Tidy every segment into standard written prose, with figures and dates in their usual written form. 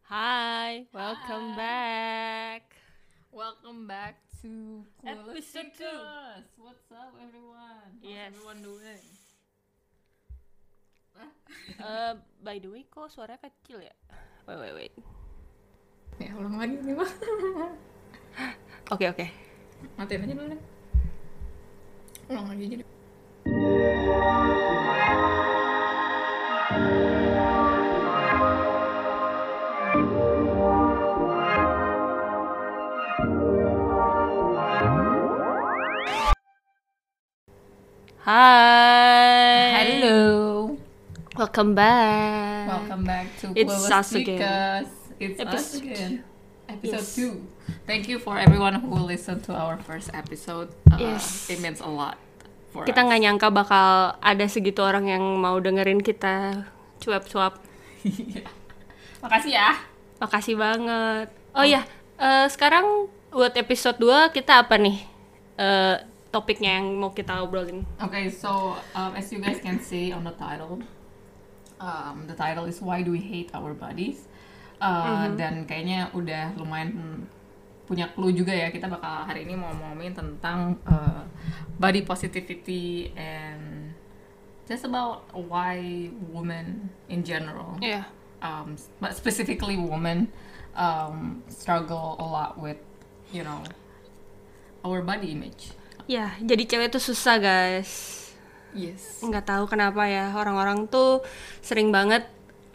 Hi, welcome Hi. back. Welcome back to Clueless Episode 2. Speakers. What's up, everyone? How's Yes. everyone doing? By the way, kok suaranya kecil ya? Wait. Ya, ulang lagi nih, Bang. Oke. Matiin aja dulu deh. Ulang lagi jadi. Hi. Hello. Welcome back. Welcome back to It's Clueless us again. Speakers. It's us Episode- again. Episode Yes. 2. Thank you for everyone who listened to our first episode. Yes. It means a lot for Kita us. nggak nyangka bakal ada segitu orang yang mau dengerin kita cuap-cuap. Makasih ya. Makasih banget. Oh ya, sekarang buat episode 2 kita apa nih? Topiknya yang mau kita obrolin. Okay, so as you guys can see on the title is Why Do We Hate Our Bodies? Dan kayaknya udah lumayan punya clue juga ya, kita bakal hari ini mau ngomongin tentang body positivity and just about why women in general, Iya. but specifically women, struggle a lot with, our body image. Ya, jadi cewek tuh susah, guys. Yes. Nggak tahu kenapa ya, orang-orang tuh sering banget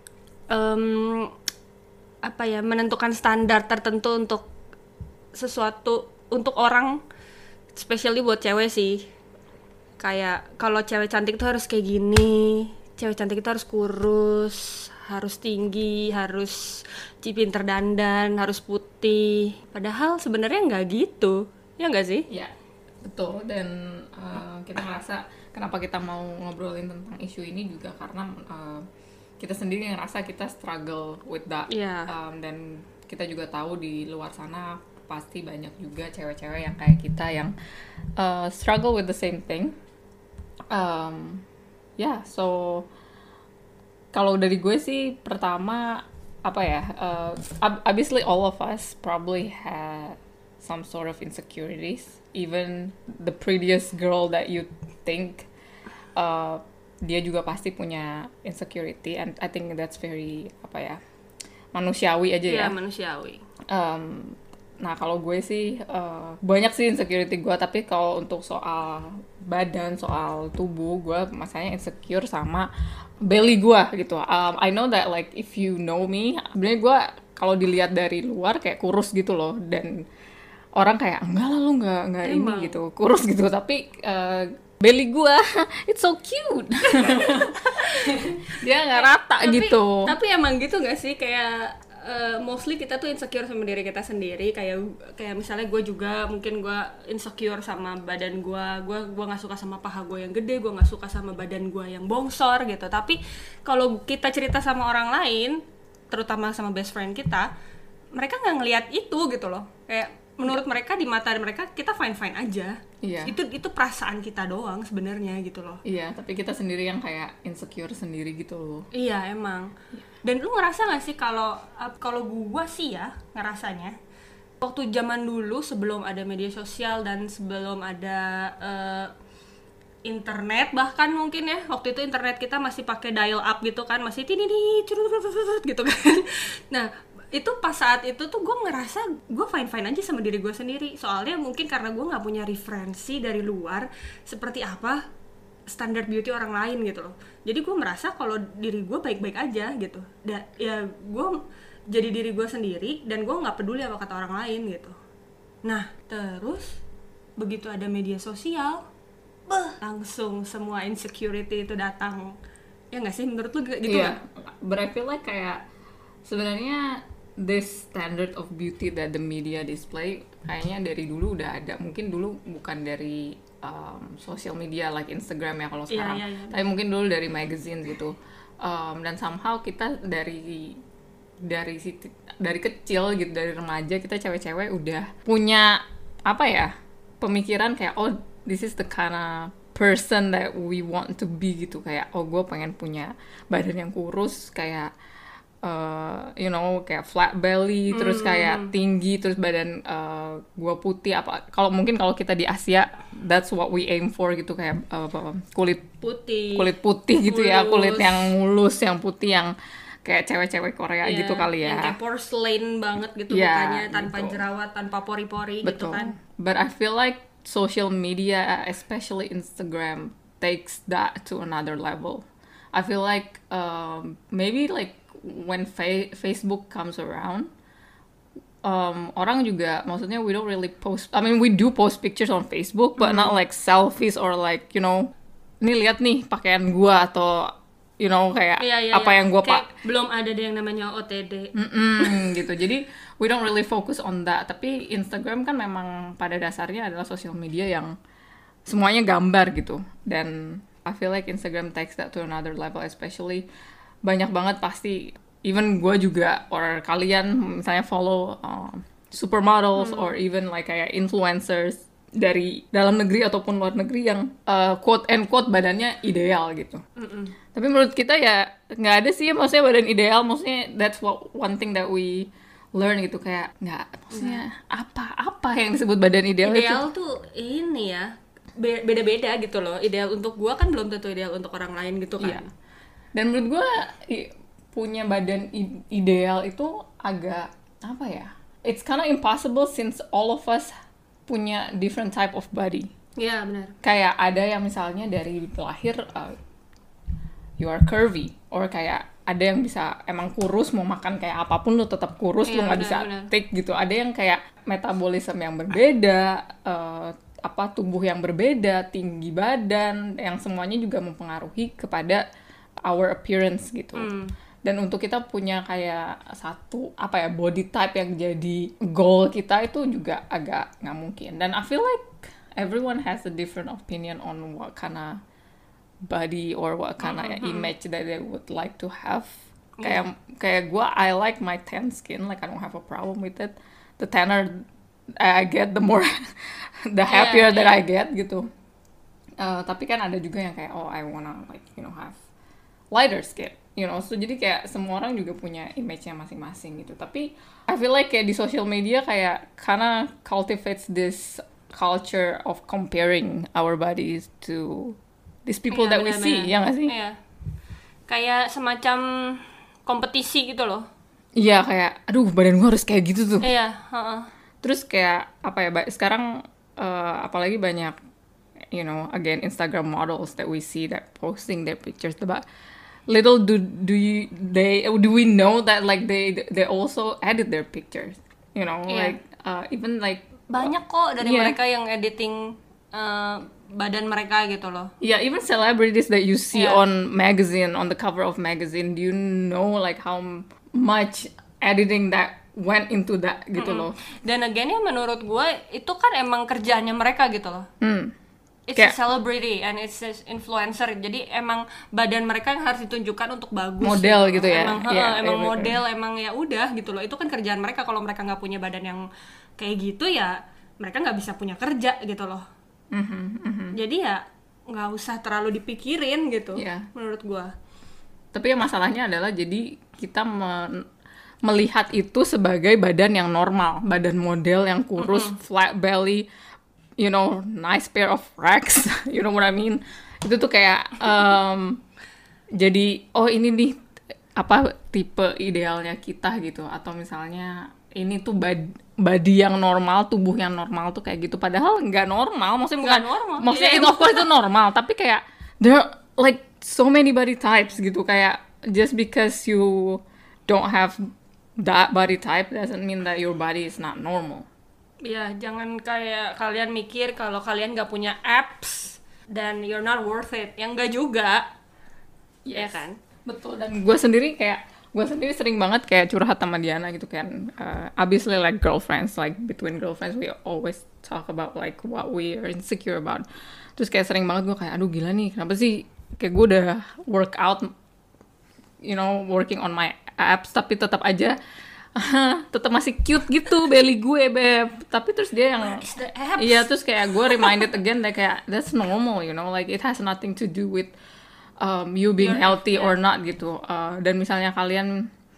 menentukan standar tertentu untuk sesuatu, untuk orang, especially buat cewek sih. Kayak kalau cewek cantik tuh harus kayak gini, cewek cantik itu harus kurus, harus tinggi, harus pinter dandan, harus putih. Padahal sebenarnya nggak gitu, ya nggak sih? Ya, betul. Dan kita ngerasa kenapa kita mau ngobrolin tentang isu ini juga karena kita sendiri ngerasa kita struggle with that. Iya. Dan kita juga tahu di luar sana pasti banyak juga cewek-cewek yang kayak kita yang struggle with the same thing. So kalau dari gue sih pertama obviously all of us probably had some sort of insecurities. Even the prettiest girl that you think, dia juga pasti punya insecurity, and I think that's very manusiawi aja ya. Iya, manusiawi. Nah kalau gue sih banyak sih insecurity gue, tapi kalau untuk soal badan, soal tubuh, gue masanya insecure sama belly gue gitu. I know that like if you know me, sebenarnya gue kalau dilihat dari luar kayak kurus gitu loh, dan orang kayak enggak lah lu nggak ini gitu kurus gitu, tapi belly gue it's so cute. Dia nggak rata gitu. Tapi emang gitu nggak sih, kayak mostly kita tuh insecure sama diri kita sendiri. Kayak misalnya gue juga mungkin gue insecure sama badan gue nggak suka sama paha gue yang gede, gue nggak suka sama badan gue yang bongsor gitu. Tapi kalau kita cerita sama orang lain, terutama sama best friend kita, mereka nggak ngelihat itu gitu loh. Kayak menurut mereka, di mata mereka kita fine aja. Iya. Itu perasaan kita doang sebenarnya gitu loh. Iya, tapi kita sendiri yang kayak insecure sendiri gitu loh. Iya emang. Dan lu ngerasa nggak sih kalau gua sih ya ngerasanya waktu zaman dulu sebelum ada media sosial dan sebelum ada internet, bahkan mungkin ya waktu itu internet kita masih pakai dial up gitu kan, masih gitu kan. Nah itu pas saat itu tuh gue ngerasa gue fine aja sama diri gue sendiri, soalnya mungkin karena gue nggak punya referensi dari luar seperti apa standar beauty orang lain gitu loh. Jadi gue merasa kalau diri gue baik-baik aja gitu. Ya gue jadi diri gue sendiri dan gue nggak peduli apa kata orang lain gitu. Nah terus begitu ada media sosial, langsung semua insecurity itu datang. Ya nggak sih, menurut lu gitu nggak? But I feel like kayak sebenarnya this standard of beauty that the media display kayaknya dari dulu udah ada. Mungkin dulu bukan dari social media like Instagram ya kalau sekarang, tapi mungkin dulu dari magazine gitu. Dan somehow kita dari kecil gitu, dari remaja kita cewek-cewek udah punya pemikiran kayak this is the kind of person that we want to be gitu, kayak gue pengen punya badan yang kurus, kayak you know, kayak flat belly, terus kayak tinggi, terus badan gue putih. Kalau kita di Asia, that's what we aim for gitu, kayak kulit putih gitu ya, kulit yang mulus, yang putih, yang kayak cewek-cewek Korea gitu kali ya. Yang kayak porcelain banget gitu mukanya, tanpa jerawat, tanpa pori-pori gitu kan. But I feel like social media, especially Instagram, takes that to another level. I feel like maybe like when Facebook comes around, orang juga, maksudnya we don't really post, I mean we do post pictures on Facebook, but not like selfies or like, you know, nih lihat nih pakaian gua, atau you know, kayak apa yang gua belum ada yang namanya OTD gitu. Jadi we don't really focus on that. Tapi Instagram kan memang pada dasarnya adalah sosial media yang semuanya gambar gitu, dan I feel like Instagram takes that to another level, especially banyak banget pasti, even gue juga or kalian misalnya follow supermodels or even like kayak influencers dari dalam negeri ataupun luar negeri yang quote and quote badannya ideal gitu. Tapi menurut kita ya nggak ada sih maksudnya badan ideal, maksudnya that's one thing that we learn gitu, kayak nggak, maksudnya apa yang disebut badan ideal itu tuh ini ya beda-beda gitu loh. Ideal untuk gue kan belum tentu ideal untuk orang lain gitu kan. Dan menurut gue punya badan ideal itu agak apa ya, it's kind of impossible since all of us punya different type of body. Iya benar. Kayak ada yang misalnya dari lahir you are curvy, or kayak ada yang bisa emang kurus, mau makan kayak apapun lu tetap kurus, lu nggak bisa thick gitu. Ada yang kayak metabolisme yang berbeda, tubuh yang berbeda, tinggi badan, yang semuanya juga mempengaruhi kepada our appearance gitu. Dan untuk kita punya kayak satu body type yang jadi goal kita, itu juga agak nggak mungkin. Dan I feel like everyone has a different opinion on what kind of body or what kind of image that they would like to have. Kayak gue, I like my tan skin, like I don't have a problem with it. The tanner I get, the more the happier that I get gitu. Tapi kan ada juga yang kayak I wanna like, you know, have lighter skin, you know. So jadi kayak semua orang juga punya image-nya masing-masing gitu. Tapi I feel like kayak di social media kayak kinda cultivates this culture of comparing our bodies to these people that we see, ya nggak sih? Iya. Kayak semacam kompetisi gitu loh. Iya, kayak aduh badan gue harus kayak gitu tuh. Iya. Terus kayak sekarang apalagi banyak, you know, again Instagram models that we see that posting their pictures, but little do we know that like they also edit their pictures, you know, like even like banyak kok dari mereka yang editing badan mereka gitu loh. Yeah, even celebrities that you see on magazine, on the cover of magazine, do you know like how much editing that went into that gitu loh. Dan again ya menurut gue itu kan emang kerjaannya mereka gitu loh. It's a celebrity and it's an influencer, jadi emang badan mereka yang harus ditunjukkan untuk bagus. Model gitu ya. Emang model, emang ya udah gitu loh. Itu kan kerjaan mereka. Kalau mereka nggak punya badan yang kayak gitu ya mereka nggak bisa punya kerja gitu loh. Jadi ya nggak usah terlalu dipikirin gitu, menurut gue. Tapi ya masalahnya adalah jadi kita melihat itu sebagai badan yang normal, badan model yang kurus, flat belly, you know, nice pair of racks, you know what I mean? Itu tuh kayak jadi ini nih tipe idealnya kita gitu, atau misalnya ini tuh body yang normal, tubuh yang normal tuh kayak gitu, padahal nggak normal, maksudnya itu of course itu normal, tapi kayak there are like so many body types gitu, kayak just because you don't have that body type doesn't mean that your body is not normal. Ya, jangan kayak kalian mikir kalau kalian nggak punya abs dan you're not worth it. Yang nggak juga, ya kan? Betul. Dan gue sendiri sering banget kayak curhat sama Diana gitu kan. Obviously like girlfriends, like between girlfriends we always talk about like what we are insecure about. Terus kayak sering banget gue kayak aduh gila nih, kenapa sih kayak gue udah workout, you know, working on my abs, tapi tetap aja tetap masih cute gitu belly gue, beb. Tapi terus dia yang iya, terus kayak gue reminded again that kayak that's normal, you know, like it has nothing to do with you being healthy or not gitu. Dan misalnya kalian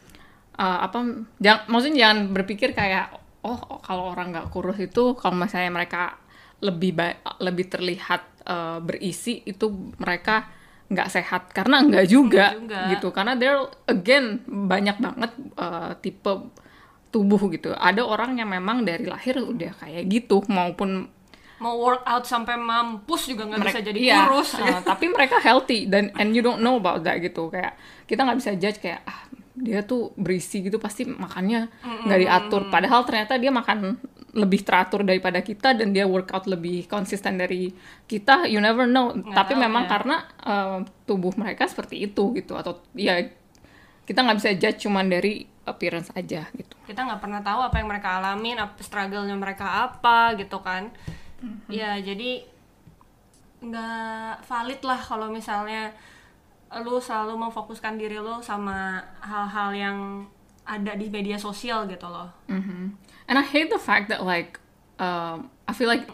maksudnya jangan berpikir kayak kalau orang nggak kurus itu kalau misalnya mereka lebih terlihat berisi itu mereka nggak sehat, karena nggak juga gitu, karena there again banyak banget tipe tubuh gitu. Ada orang yang memang dari lahir udah kayak gitu, maupun mau workout sampai mampus juga nggak bisa jadi kurus. Tapi mereka healthy and you don't know about that gitu. Kayak kita nggak bisa judge kayak dia tuh berisi gitu pasti makannya nggak diatur. Padahal ternyata dia makan lebih teratur daripada kita dan dia workout lebih konsisten dari kita. You never know. Tapi memang karena tubuh mereka seperti itu gitu. Atau ya kita nggak bisa judge cuman dari appearance aja gitu. Kita nggak pernah tahu apa yang mereka alamin, struggle-nya mereka apa gitu kan. Ya jadi nggak valid lah kalau misalnya lu selalu memfokuskan diri lu sama hal-hal yang ada di media sosial gitu loh. And I hate the fact that like I feel like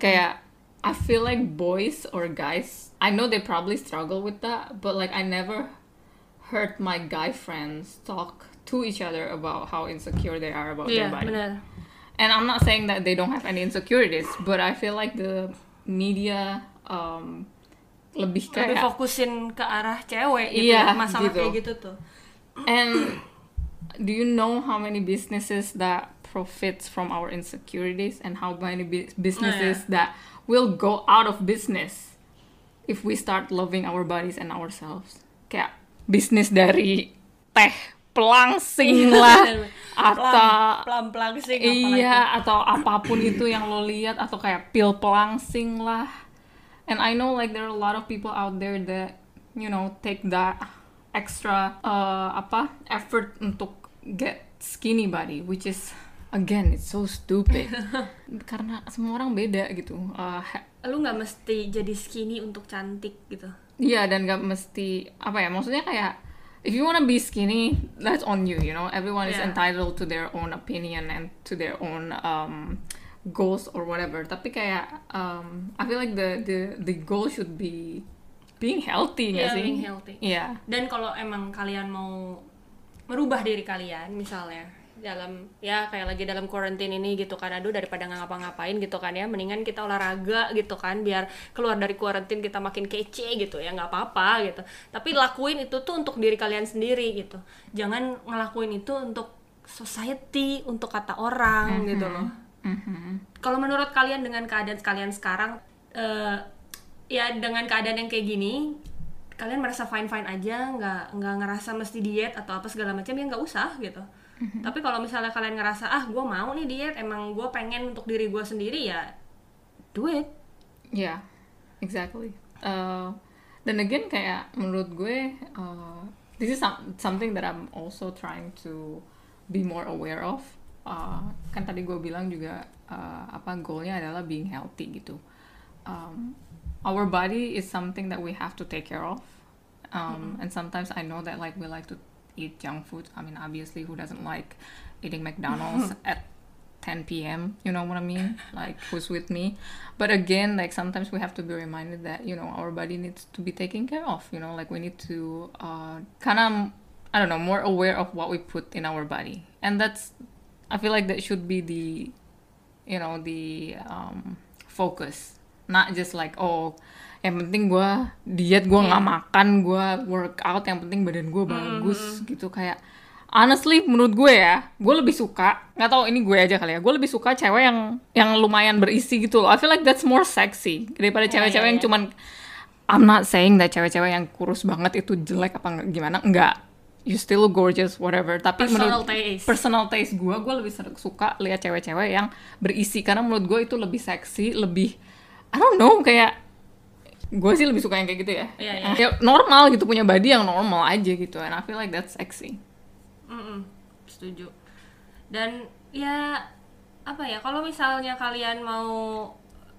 boys or guys, I know they probably struggle with that, but like I never heard my guy friends talk to each other about how insecure they are about their body. Bener. And I'm not saying that they don't have any insecurities, but I feel like the media lebih fokusin ke arah cewek gitu, masalah gitu. Kayak gitu tuh. And do you know how many businesses that profits from our insecurities and how many businesses that will go out of business if we start loving our bodies and ourselves? Kayak bisnis dari teh pelangsing lah atau pelangsing atau apapun itu yang lo lihat, atau kayak pil pelangsing lah. And I know like there are a lot of people out there that you know take that extra effort untuk get skinny body, which is again it's so stupid. Karena semua orang beda gitu. Lu nggak mesti jadi skinny untuk cantik gitu. Iya, dan nggak mesti maksudnya kayak if you wanna be skinny, that's on you, you know. Everyone is entitled to their own opinion and to their own goals or whatever. Tapi kayak I feel like the goal should be being healthy, nggak sih? Being healthy. Iya. Dan kalau emang kalian mau merubah diri kalian, misalnya dalam kayak lagi dalam quarantine ini gitu kan, aduh daripada nggak ngapa-ngapain gitu kan ya, mendingan kita olahraga gitu kan, biar keluar dari quarantine kita makin kece gitu ya, nggak apa-apa gitu. Tapi lakuin itu tuh untuk diri kalian sendiri gitu, jangan ngelakuin itu untuk society, untuk kata orang gitu loh. Kalau menurut kalian dengan keadaan kalian sekarang, dengan keadaan yang kayak gini, kalian merasa fine aja, nggak ngerasa mesti diet atau apa segala macam, ya nggak usah gitu. Tapi kalau misalnya kalian ngerasa gue mau nih diet, emang gue pengen untuk diri gue sendiri, ya do it. Yeah, exactly. Dan again kayak menurut gue this is something that I'm also trying to be more aware of. Kan tadi gue bilang juga goalnya adalah being healthy gitu. Our body is something that we have to take care of. And sometimes I know that like we like to eat junk food. I mean, obviously, who doesn't like eating McDonald's at 10 p.m.? You know what I mean? Like, who's with me? But again, like, sometimes we have to be reminded that, you know, our body needs to be taken care of. You know, like, we need to more aware of what we put in our body. And I feel like that should be the focus. Not just like, yang penting gue diet, gue nggak makan, gue workout, yang penting badan gue bagus gitu. Kayak honestly menurut gue ya, gue lebih suka, nggak tahu ini gue aja kali ya, gue lebih suka cewek yang lumayan berisi gitu loh. I feel like that's more sexy daripada cewek-cewek yang cuman, I'm not saying that cewek-cewek yang kurus banget itu jelek apa gimana, enggak, you still gorgeous whatever. Tapi personal taste gue lebih suka lihat cewek-cewek yang berisi, karena menurut gue itu lebih seksi, lebih I don't know, kayak gue sih lebih suka yang kayak gitu ya. Ya normal gitu, punya body yang normal aja gitu, and I feel like that's sexy. Setuju. Dan ya kalau misalnya kalian mau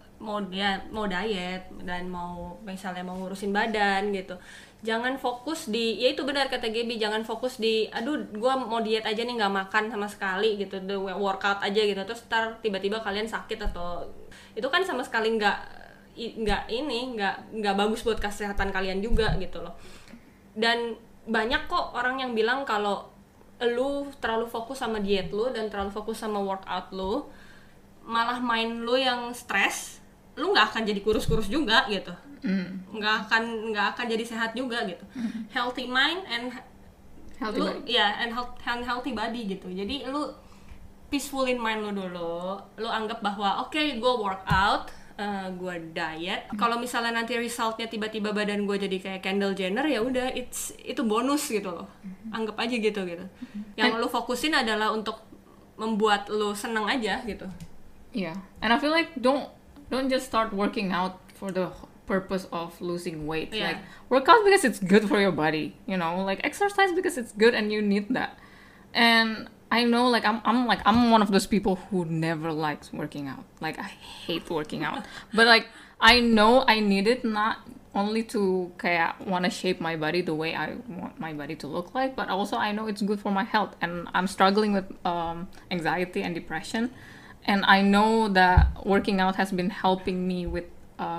diet dan mau ngurusin badan gitu, jangan fokus di, ya itu benar kata Gaby, jangan fokus di gue mau diet aja nih, nggak makan sama sekali gitu, the workout aja gitu, terus ntar tiba-tiba kalian sakit, atau itu kan sama sekali nggak bagus buat kesehatan kalian juga gitu loh. Dan banyak kok orang yang bilang kalau lu terlalu fokus sama diet lu dan terlalu fokus sama workout lu, malah mind lu yang stres, lu nggak akan jadi kurus-kurus juga gitu. nggak akan jadi sehat juga gitu. Healthy mind and Healthy lu body. ya and healthy body gitu. Jadi lu peacefulin mind lu dulu, lu anggap bahwa oke, gue workout, gue diet. Kalau misalnya nanti resultnya tiba-tiba badan gue jadi kayak Kendall Jenner, ya udah, itu bonus gitu loh. Anggap aja gitu. Yang lu fokusin adalah untuk membuat lu seneng aja gitu. Yeah, and I feel like don't just start working out for the purpose of losing weight. Yeah. Like work out because it's good for your body, you know. Like exercise because it's good and you need that. And I know, like I'm one of those people who never likes working out. Like I hate working out, but like I know I need it not only to kayak wanna shape my body the way I want my body to look like, but also I know it's good for my health. And I'm struggling with anxiety and depression. And I know that working out has been helping me with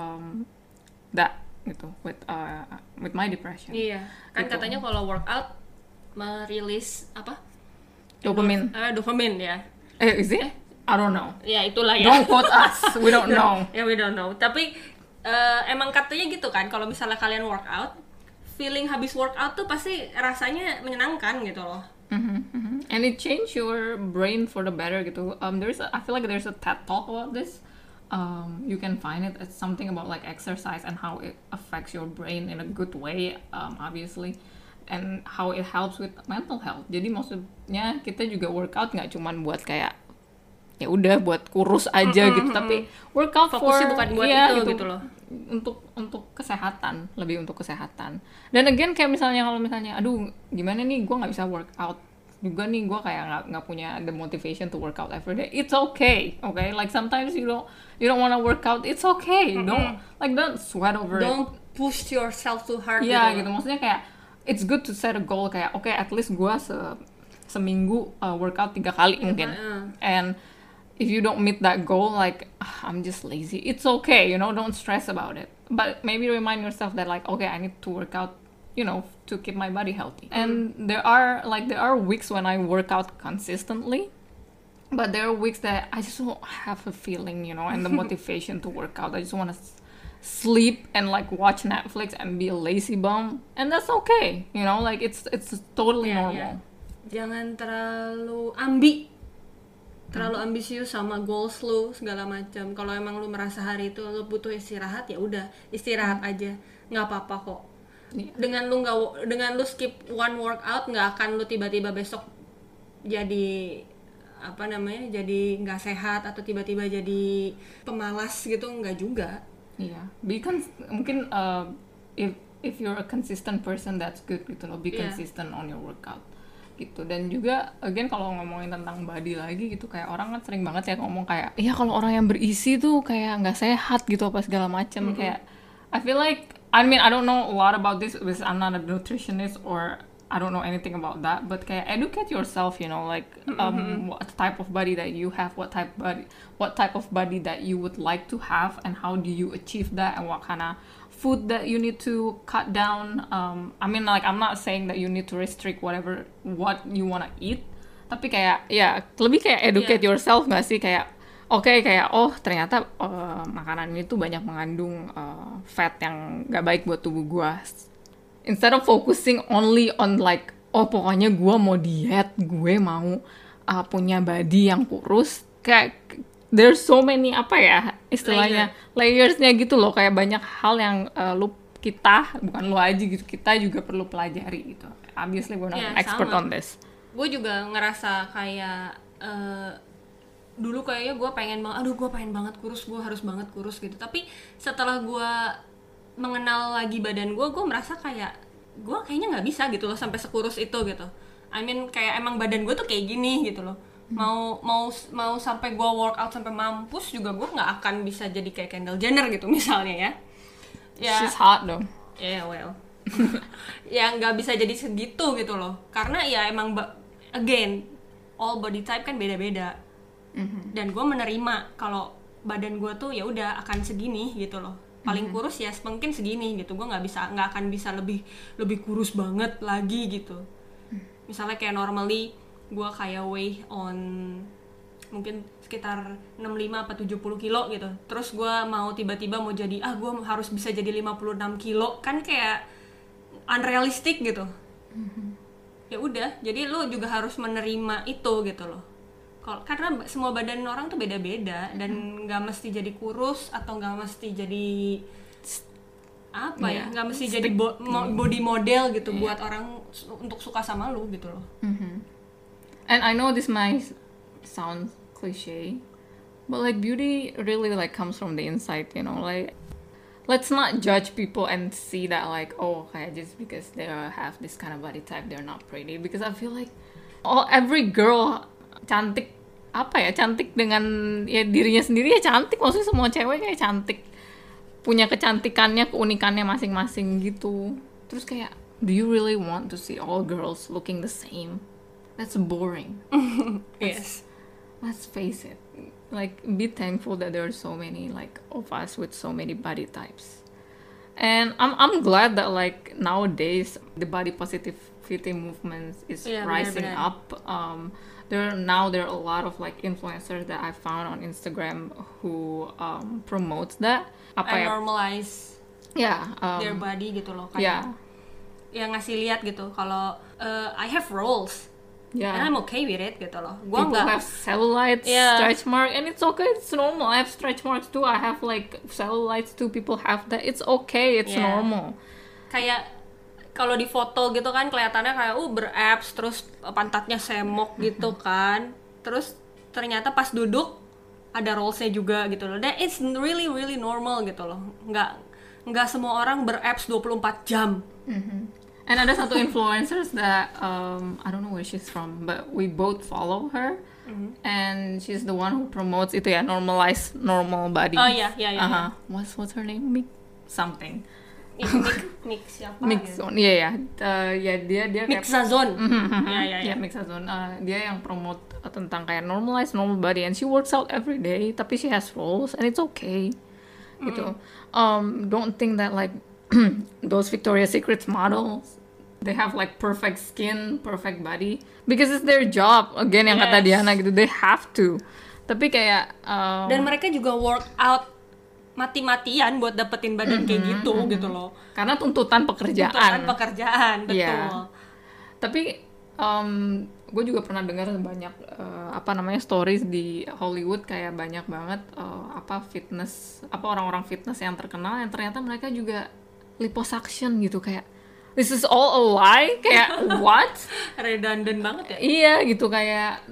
that gitu, with my depression. Iya, kan Gitu. katanya kalau workout merilis apa? Dopamine. Dopamine ya. Is it? I don't know. Ya itulah ya. Don't quote us. We don't know. Ya we don't know. Tapi emang katanya gitu kan, kalau misalnya kalian workout, feeling habis workout tuh pasti rasanya menyenangkan gitu loh. And it changed your brain for the better gitu. I feel like there's a TED talk about this. You can find it. It's something about like exercise and how it affects your brain in a good way, obviously, and how it helps with mental health. Jadi maksudnya kita juga workout nggak cuman buat kayak ya udah buat kurus aja gitu, tapi workout Fokusnya for bukan buat ya, itu gitu loh. Untuk kesehatan, lebih untuk kesehatan. Dan again kayak misalnya kalau misalnya aduh gimana nih gue nggak bisa workout juga nih, gue kayak nggak punya the motivation to work out every day. It's okay, like sometimes you don't want to work out. It's okay. Don't sweat over it. Don't push yourself too hard. Iya gitu. Maksudnya kayak it's good to set a goal kayak okay, at least gue seminggu workout 3 kali mungkin. And if you don't meet that goal, like I'm just lazy. It's okay, don't stress about it. But maybe remind yourself that like okay, I need to work out, to keep my body healthy. And there are weeks when I work out consistently, but there are weeks that I just don't have a feeling, and the motivation to work out. I just want to sleep and like watch Netflix and be a lazy bum, and that's okay, like it's totally normal. Jangan terlalu ambisius sama goals lu segala macam. Kalau emang lu merasa hari itu lu butuh istirahat, ya udah istirahat aja, nggak apa-apa kok. Dengan lu skip one workout, nggak akan lu tiba-tiba besok jadi jadi nggak sehat atau tiba-tiba jadi pemalas gitu, nggak juga. Iya, because mungkin if you're a consistent person, that's good gitu loh, be consistent on your workout gitu. Dan juga again kalau ngomongin tentang body lagi gitu, kayak orang kan sering banget ya ngomong kayak iya kalau orang yang berisi tuh kayak nggak sehat gitu apa segala macam. Kayak I feel like I don't know a lot about this because I'm not a nutritionist or I don't know anything about that, but kayak educate yourself, like what type of body that you have, what type of body that you would like to have, and how do you achieve that, and what kind of food that you need to cut down. I'm not saying that you need to restrict what you wanna eat, tapi kayak lebih kayak educate yourself nggak sih, kayak kayak ternyata makanan ini tuh banyak mengandung fat yang nggak baik buat tubuh gue. Instead of focusing only on like pokoknya gue mau diet, gue mau punya body yang kurus, kayak there's so many istilahnya layersnya gitu loh, kayak banyak hal yang bukan lu aja gitu, kita juga perlu pelajari gitu. Obviously we're not an expert on this. Gue juga ngerasa kayak dulu kayaknya gue pengen banget kurus, gue harus banget kurus gitu. Tapi setelah gue mengenal lagi badan gue merasa kayak gue kayaknya nggak bisa gitu loh sampai sekurus itu gitu. Kayak emang badan gue tuh kayak gini gitu loh. Mau sampai gue workout sampai mampus juga gue nggak akan bisa jadi kayak Kendall Jenner gitu misalnya ya. She's hot though. Yeah, well. Ya nggak bisa jadi segitu gitu loh. Karena ya emang again all body type kan beda-beda. Dan gue menerima kalau badan gue tuh ya udah akan segini gitu loh. Paling kurus ya mungkin segini gitu. Gue nggak akan bisa lebih kurus banget lagi gitu. Misalnya kayak normally gue kayak weigh on mungkin sekitar 65 apa 70 kilo gitu, terus gue mau tiba-tiba mau jadi gue harus bisa jadi 56 kilo, kan kayak unrealistic gitu. Ya udah, jadi lu juga harus menerima itu gitu loh. Karena semua badan orang tuh beda-beda, dan nggak mesti jadi kurus atau nggak mesti jadi apa ya, nggak mesti jadi body model gitu buat orang untuk suka sama lu gitu loh. And I know this might sound cliche, but like beauty really like comes from the inside, you know, like let's not judge people and see that like, oh, okay, just because they have this kind of body type they're not pretty, because I feel like every girl cantik, apa ya, cantik dengan ya dirinya sendiri ya cantik, maksudnya semua cewek kayak cantik, punya kecantikannya, keunikannya masing-masing gitu. Terus kayak, do you really want to see all girls looking the same? That's boring. Yes. Let's face it, like be thankful that there are so many like of us with so many body types. And I'm glad that like nowadays the body positivity movement is rising up. There are a lot of like influencers that I found on Instagram who promotes that and normalize their body gitu loh, kayak yang ngasih lihat gitu kalau I have rolls. And I'm okay with it gitu loh. People have cellulites, stretch mark, and it's okay. It's normal. I have stretch marks too. I have like cellulites too. People have that. It's okay. It's normal. Kayak kalau di foto gitu kan kelihatannya kayak berabs, terus pantatnya semok gitu kan. Terus ternyata pas duduk ada rollsnya juga gitu loh. Dan it's really really normal gitu loh. Nggak semua orang berabs 24 jam. And ada satu influencers that I don't know where she's from, but we both follow her, and she's the one who promotes itu ya, normalize normal body. Oh iya. What's her name? Mix something. Mix siapa? Mixzone. Iya. Dia Mixazone. Iya, Mixazone. Dia yang promote tentang kayak normalize normal body, and she works out every day, tapi she has rolls and it's okay. Gitu. Don't think that like those Victoria's Secret models, they have like perfect skin, perfect body, because it's their job. Again, yang kata Diana gitu, they have to. Tapi kayak dan mereka juga work out mati-matian buat dapetin badan kayak gitu loh. Karena tuntutan pekerjaan, betul. Tapi gue juga pernah dengar banyak stories di Hollywood, kayak banyak banget fitness, orang-orang fitness yang terkenal yang ternyata mereka juga liposuction gitu, kayak this is all a lie, kayak what? Redundant banget ya. Iya gitu, kayak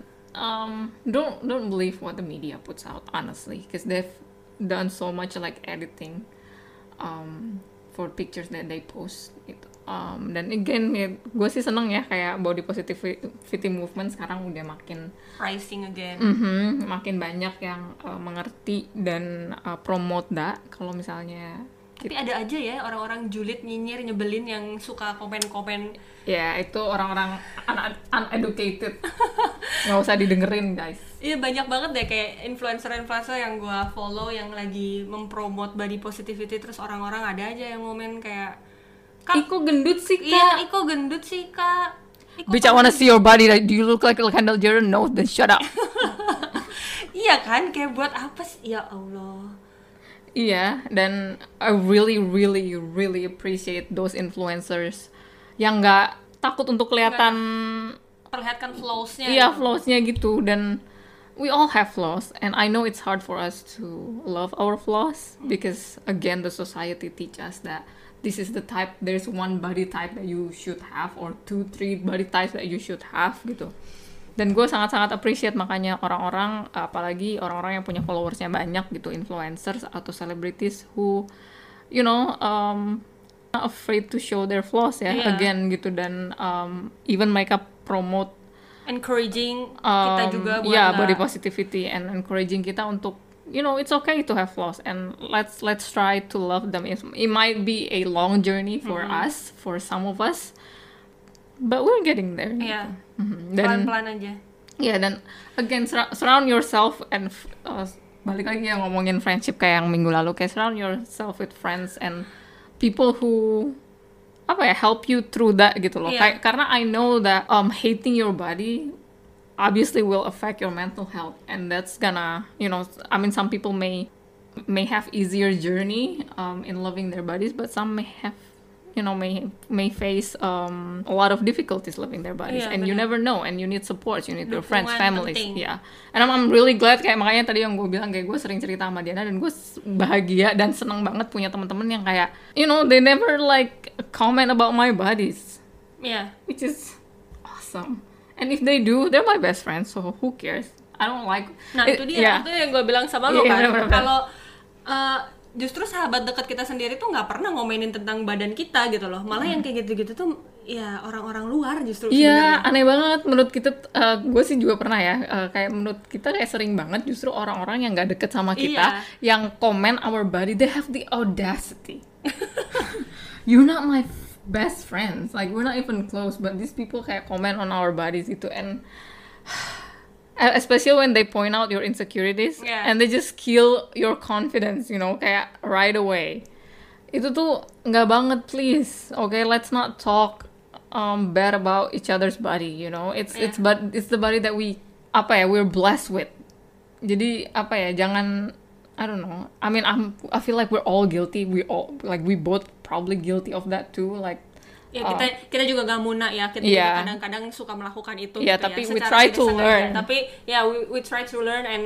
don't believe what the media puts out, honestly, because they've done so much like editing for pictures that they post gitu. Dan again ya, gue sih seneng ya kayak body positivity movement sekarang udah makin rising again. Makin banyak yang mengerti dan promote that. Kalau misalnya tapi ada aja ya orang-orang julid, nyinyir, nyebelin yang suka komen-komen. Ya itu orang-orang uneducated. Nggak usah didengerin guys. Iya, banyak banget deh kayak influencer yang gue follow yang lagi mempromote body positivity, terus orang-orang ada aja yang komen kayak, Iko gendut sih kak. Iya, Iko gendut sih kak. Bitch, I wanna see your body. Do you look like Kendall Jenner? No, then shut up. Iya kan, kayak buat apa sih? Ya Allah. Iya, dan I really really really appreciate those influencers yang nggak takut untuk perlihatkan flaws-nya. Iya, flaws-nya gitu. Dan we all have flaws, and I know it's hard for us to love our flaws because again the society teach us that this is the type, there's one body type that you should have, or 2-3 body types that you should have gitu. Dan gue sangat-sangat appreciate makanya orang-orang, apalagi orang-orang yang punya followersnya banyak gitu, influencers atau celebrities who you know not afraid to show their flaws ya, again gitu. Dan even mereka promote encouraging kita juga buat body positivity, and encouraging kita untuk you know it's okay to have flaws, and let's try to love them. It might be a long journey for us, for some of us, but we're getting there. Iya. Dan pelan-pelan aja. Iya, dan again surround yourself and balik lagi yang ngomongin friendship kayak yang minggu lalu, kayak surround yourself with friends and people who apa ya, help you through that gitu loh. Iya. Karena I know that hating your body obviously will affect your mental health, and that's gonna, you know, I mean, some people may have easier journey in loving their bodies, but some may have, you know, may face a lot of difficulties living their bodies, Iya, and you benar. never know, and you need support, you need your friends, Dukungan families, penting. yeah. And I'm really glad, kayak makanya tadi yang gue bilang, kayak gue sering cerita sama Diana, dan gue bahagia dan seneng banget punya teman-teman yang kayak, you know, they never like comment about my bodies, Iya. which is awesome. And if they do, they're my best friends, so who cares? I don't like. Nah itu dia, yeah. itu yang gue bilang sama lo Iya, kan. bener-bener. Kalau justru sahabat dekat kita sendiri tuh nggak pernah ngomenin tentang badan kita gitu loh. Malah yang kayak gitu-gitu tuh ya orang-orang luar justru Iya, sebenarnya. aneh banget menurut kita. Gue sih juga pernah ya, kayak menurut kita kayak sering banget justru orang-orang yang nggak deket sama kita, yang komen our body, they have the audacity. You're not my best friends, like we're not even close, but these people kayak comment on our bodies gitu, and especially when they point out your insecurities, Yeah. and they just kill your confidence, you know, kayak right away. Itu tuh nggak banget, please. Okay, let's not talk bad about each other's body, you know. It's the body that we're blessed with. Jadi jangan, I don't know. I mean, I feel like we're all guilty. We both probably guilty of that too. Like, Ya kita juga gak muna ya, kita Iya. juga kadang-kadang suka melakukan itu Iya, gitu tapi ya, we secara try tidak to sengaja. learn. Tapi ya we try to learn and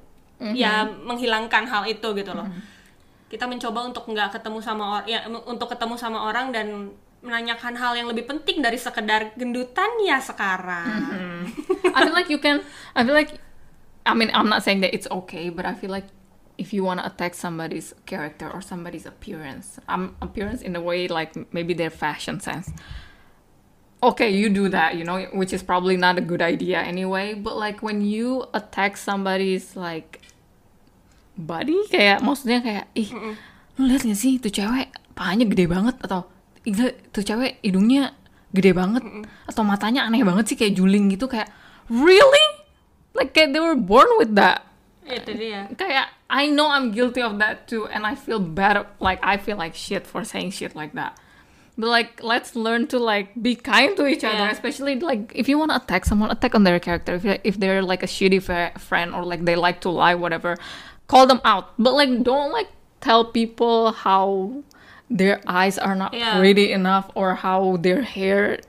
ya menghilangkan hal itu gitu loh. Kita mencoba untuk nggak ketemu sama orang, ya untuk ketemu sama orang dan menanyakan hal yang lebih penting dari sekedar gendutan ya sekarang. I feel like, I mean, I'm not saying that it's okay, but I feel like if you want to attack somebody's character or somebody's appearance in a way, like maybe their fashion sense, okay, you do that, you know, which is probably not a good idea anyway. But like when you attack somebody's like body, kayak maksudnya kayak, lu lihat gak sih tuh cewek pahanya gede banget, atau gila tuh cewek hidungnya gede banget, atau matanya aneh banget sih kayak juling gitu, kayak really, like kayak they were born with that. Itu dia. Kayak I know I'm guilty of that too, and I feel bad, like I feel like shit for saying shit like that. But like, let's learn to like be kind to each other, Yeah. especially like if you want to attack someone, attack on their character. If they're like a shitty friend, or like they like to lie, whatever, call them out. But like, don't like tell people how their eyes are not Yeah. pretty enough, or how their hair,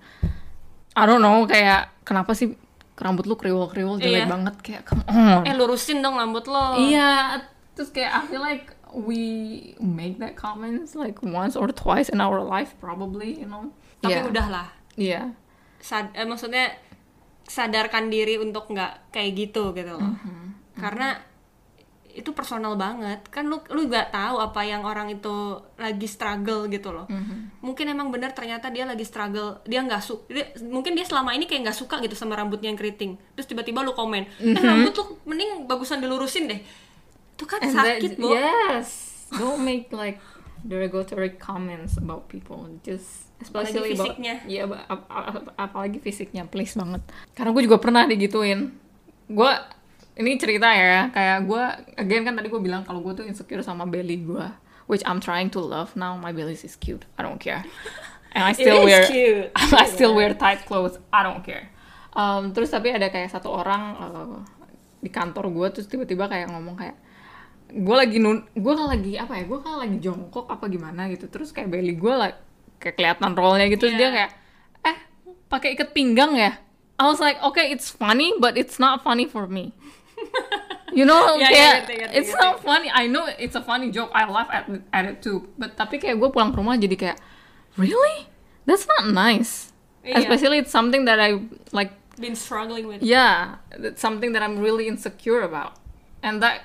I don't know, kayak kenapa sih rambut lu kriwel-kriwel jelek Iya. banget, kayak come on. Lurusin dong rambut lo. Iya, terus kayak I feel like we make that comments like once or twice in our life probably, you know. Tapi Yeah. udahlah. Iya. Maksudnya sadarkan diri untuk nggak kayak gitu gitu loh. Karena itu personal banget. Kan lu nggak tahu apa yang orang itu lagi struggle gitu loh. Mungkin emang benar ternyata dia lagi struggle. Dia nggak mungkin dia selama ini kayak nggak suka gitu sama rambutnya yang keriting. Terus tiba-tiba lu komen, rambut tuh mending bagusan dilurusin deh. Itu kan sakit, Bo. Yes. Don't make like derogatory comments about people. Just especially Apalagi fisiknya. Iya, apalagi fisiknya, please banget. Karena gue juga pernah digituin. Ini cerita ya, kayak gue, again kan tadi gue bilang kalau gue tuh insecure sama belly gue, which I'm trying to love now. My belly is cute, I don't care, and I still It is cute. I still wear tight clothes, I don't care. Terus tapi ada kayak satu orang di kantor gue, terus tiba-tiba kayak ngomong kayak, gue kan lagi jongkok apa gimana gitu, terus kayak belly gue kayak kelihatan rollnya gitu, terus dia kayak, pakai ikat pinggang ya. I was like, okay, it's funny, but it's not funny for me. You know, kayak it's not funny. I know it's a funny joke. I laugh at it too. But tapi kayak gue pulang ke rumah jadi kayak, really? That's not nice. Iya. Especially it's something that I like. Been struggling with. Yeah, it's something that I'm really insecure about, and that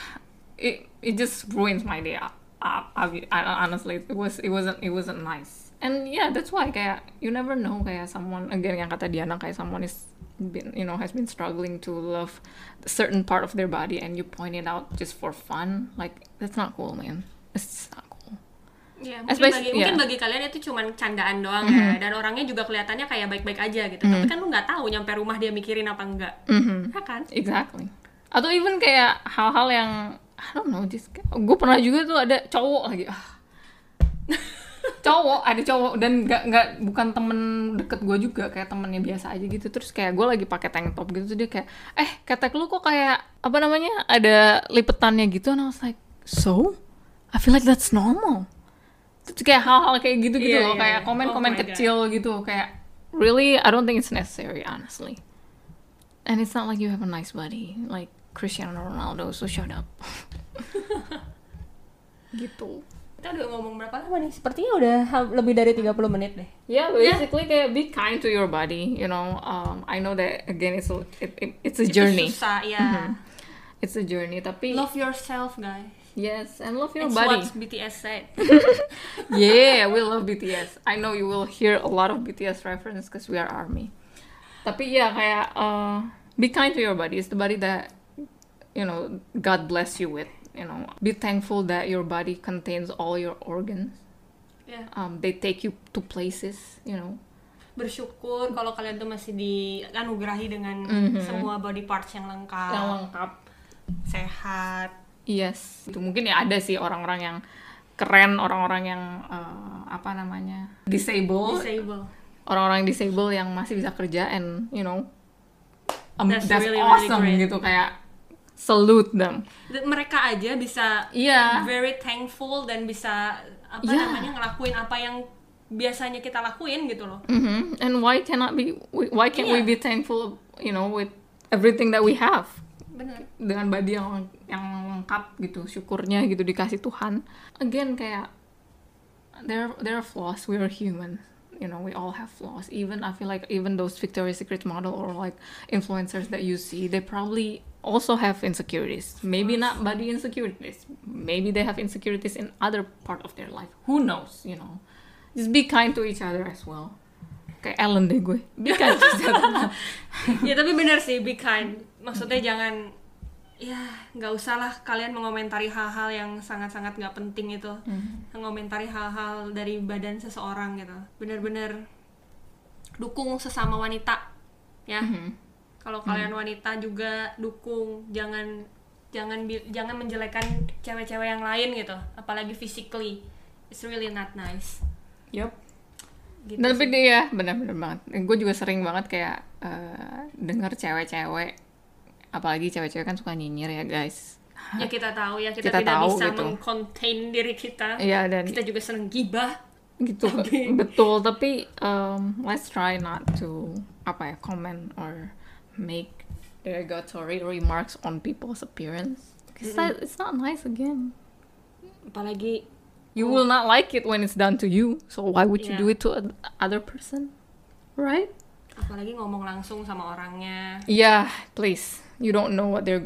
it just ruins my day. Honestly, it wasn't nice. And yeah, that's why kayak you never know, kayak someone, again yang kata Diana, kayak someone has been struggling to love a certain part of their body, and you point it out just for fun, like that's not cool, man. It's not cool. Ya, mungkin bagi kalian itu cuma candaan doang ya, dan orangnya juga kelihatannya kayak baik-baik aja gitu. Tapi kan lu nggak tahu nyampe rumah dia mikirin apa enggak, ya kan? Exactly. Atau even kayak hal-hal yang I don't know, gue pernah juga tuh ada cowok lagi. ada cowok dan nggak bukan temen deket gue juga, kayak temennya biasa aja gitu. Terus kayak gue lagi pakai tank top gitu, terus dia kayak ketek lu kok kayak apa namanya ada lipetannya gitu, and I was like, so I feel like that's normal. Terus kayak hal-hal kayak gitu loh, kayak komen-komen kecil gitu, kayak really I don't think it's necessary honestly. And it's not like you have a nice body like Cristiano Ronaldo, so shut up. Gitu. Kita udah ngomong berapa lama nih? Sepertinya udah lebih dari 30 menit deh. Yeah, basically kayak be kind to your body, you know. I know that again it's a journey. Itu susah, ya. It's a journey, tapi love yourself, guys. Yes, and love your It's body. what BTS said. Yeah, we love BTS. I know you will hear a lot of BTS reference because we are ARMY. Tapi ya kayak be kind to your body. It's the body that, you know, God bless you with. You know, be thankful that your body contains all your organs. Yeah. They take you to places, you know. Bersyukur kalau kalian tuh masih dianugerahi dengan semua body parts yang lengkap. Sehat. Yes. Itu mungkin ya ada sih orang-orang yang keren, orang-orang yang disable. Orang-orang disable yang masih bisa kerja, and you know, that's really, awesome really gitu, kayak salute them. Mereka aja bisa very thankful dan bisa ngelakuin apa yang biasanya kita lakuin gitu loh. And why can't we be thankful, you know, with everything that we have? Benar. Dengan body yang lengkap gitu, syukurnya gitu dikasih Tuhan. Again kayak there are flaws, we are human. You know, we all have flaws. I feel like even those Victoria's Secret model or like influencers that you see, they probably also have insecurities. Maybe not body insecurities. Maybe they have insecurities in other part of their life. Who knows, you know. Just be kind to each other as well. Kayak Ellen deh gue. Be kind to each other. Ya tapi benar sih, be kind. Maksudnya jangan, nggak usah lah kalian mengomentari hal-hal yang sangat-sangat nggak penting itu. Mengomentari hal-hal dari badan seseorang gitu. Benar-benar dukung sesama wanita, ya. Kalau kalian wanita juga dukung, jangan menjelekan cewek-cewek yang lain gitu, apalagi physically. It's really not nice. Yup. Gitu. Dan tapi dia benar-benar banget. Gue juga sering banget kayak dengar cewek-cewek, apalagi cewek-cewek kan suka nyinyir ya guys. Ya kita tahu ya, kita tidak tahu, bisa gitu. meng-contain diri kita. Iya, dan kita juga seneng gibah. Gitu. Betul, tapi let's try not to comment or make derogatory remarks on people's appearance, because it's not nice again. Apalagi you will not like it when it's done to you, so why would you do it to other person, right? Apalagi ngomong langsung sama orangnya. Yeah, please, you don't know what they're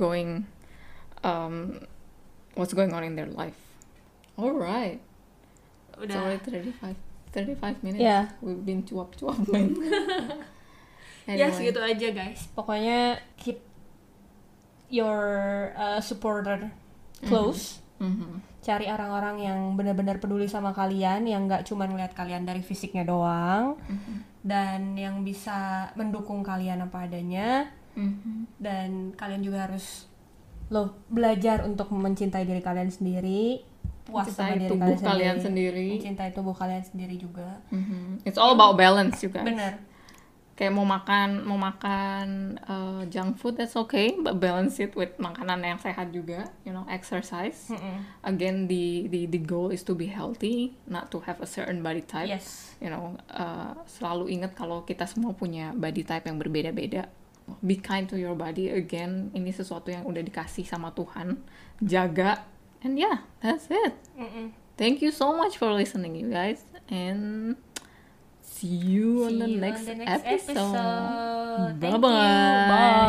what's going on in their life. Alright, Udah. It's already 35 minutes. Yeah. We've been cuap-cuap, man. Ya segitu aja guys. Pokoknya keep your supporter close. Cari orang-orang yang benar-benar peduli sama kalian, yang nggak cuma ngeliat kalian dari fisiknya doang, dan yang bisa mendukung kalian apa adanya. Dan kalian juga harus belajar untuk mencintai diri kalian sendiri, puas sama diri kalian sendiri, mencintai tubuh kalian sendiri juga. It's all about balance, you guys. Bener. Kayak mau makan junk food, that's okay, but balance it with makanan yang sehat juga, you know, exercise. Again, the goal is to be healthy, not to have a certain body type. Yes. You know, selalu ingat kalau kita semua punya body type yang berbeda-beda. Be kind to your body. Again, ini sesuatu yang udah dikasih sama Tuhan, jaga, and yeah, that's it. Thank you so much for listening, you guys, and see you on the next episode. Thank you. Bye.